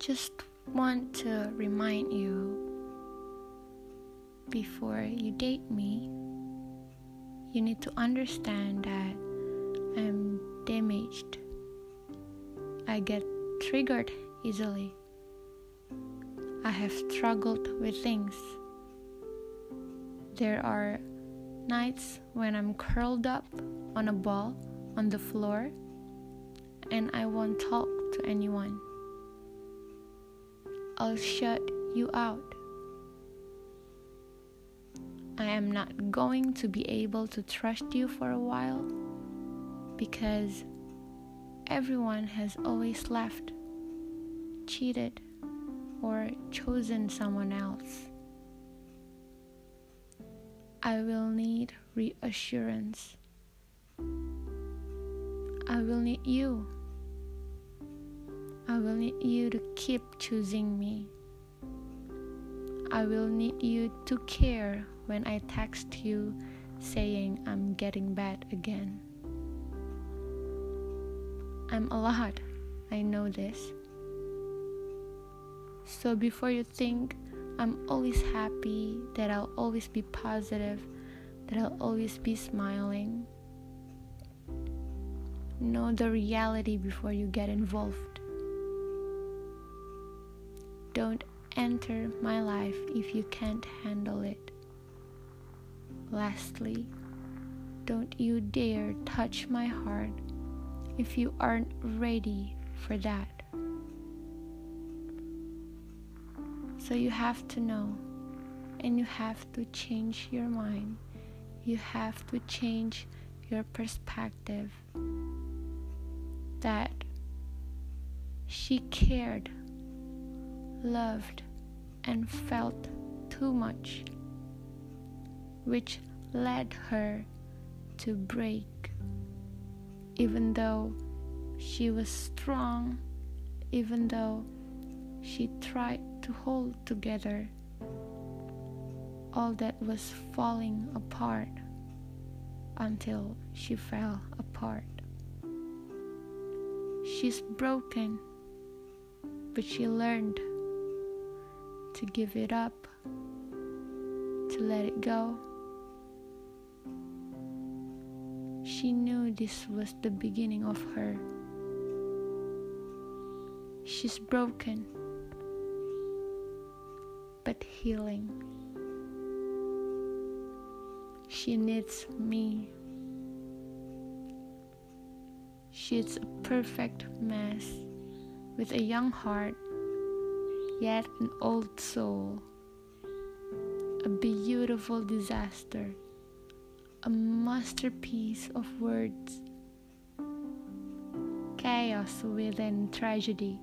just want to remind you, before you date me, you need to understand that I'm damaged. I get triggered easily. I have struggled with things. There are nights when I'm curled up on a ball on the floor and I won't talk to anyone. I'll shut you out. I am not going to be able to trust you for a while because everyone has always left, cheated, or chosen someone else. I will need reassurance. I will need you. I will need you to keep choosing me. I will need you to care when I text you saying I'm getting bad again. I'm a lot, I know this. So before you think I'm always happy, that I'll always be positive, that I'll always be smiling, know the reality before you get involved. Don't enter my life if you can't handle it. Lastly, don't you dare touch my heart if you aren't ready for that. So you have to know, and you have to change your mind. You have to change your perspective that she cared, loved, and felt too much, which led her to break. Even though she was strong, even though she tried to hold together, all that was falling apart until she fell apart. She's broken, but she learned to give it up, to let it go. She knew this was the beginning of her. She's broken, but healing. She needs me. She's a perfect mess with a young heart, yet an old soul. A beautiful disaster, a masterpiece of words. Chaos within tragedy.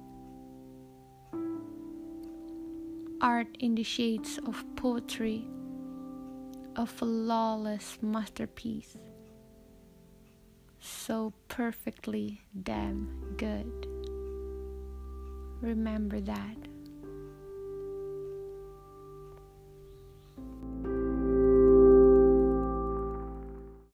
Art in the shades of poetry, a flawless masterpiece. So perfectly damn good. Remember that.